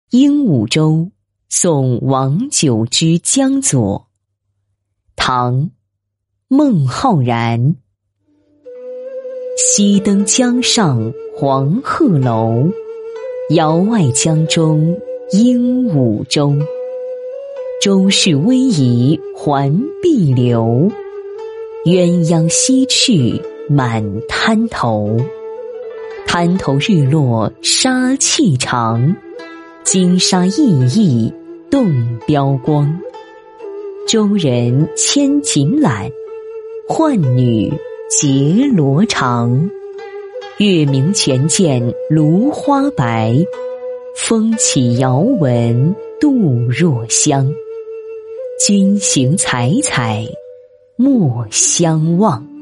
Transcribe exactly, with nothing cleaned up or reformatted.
鹦鹉洲送王九之江左。唐·孟浩然。西登江上黄鹤楼，遥外江中鹦鹉洲。周氏逶迤环碧流，鸳鸯西去满滩头。滩头日落沙气长，金沙熠熠动标光。周人牵锦缆，浣女结罗裳。月明泉见芦花白，风起遥闻杜若香。君行采采莫相忘。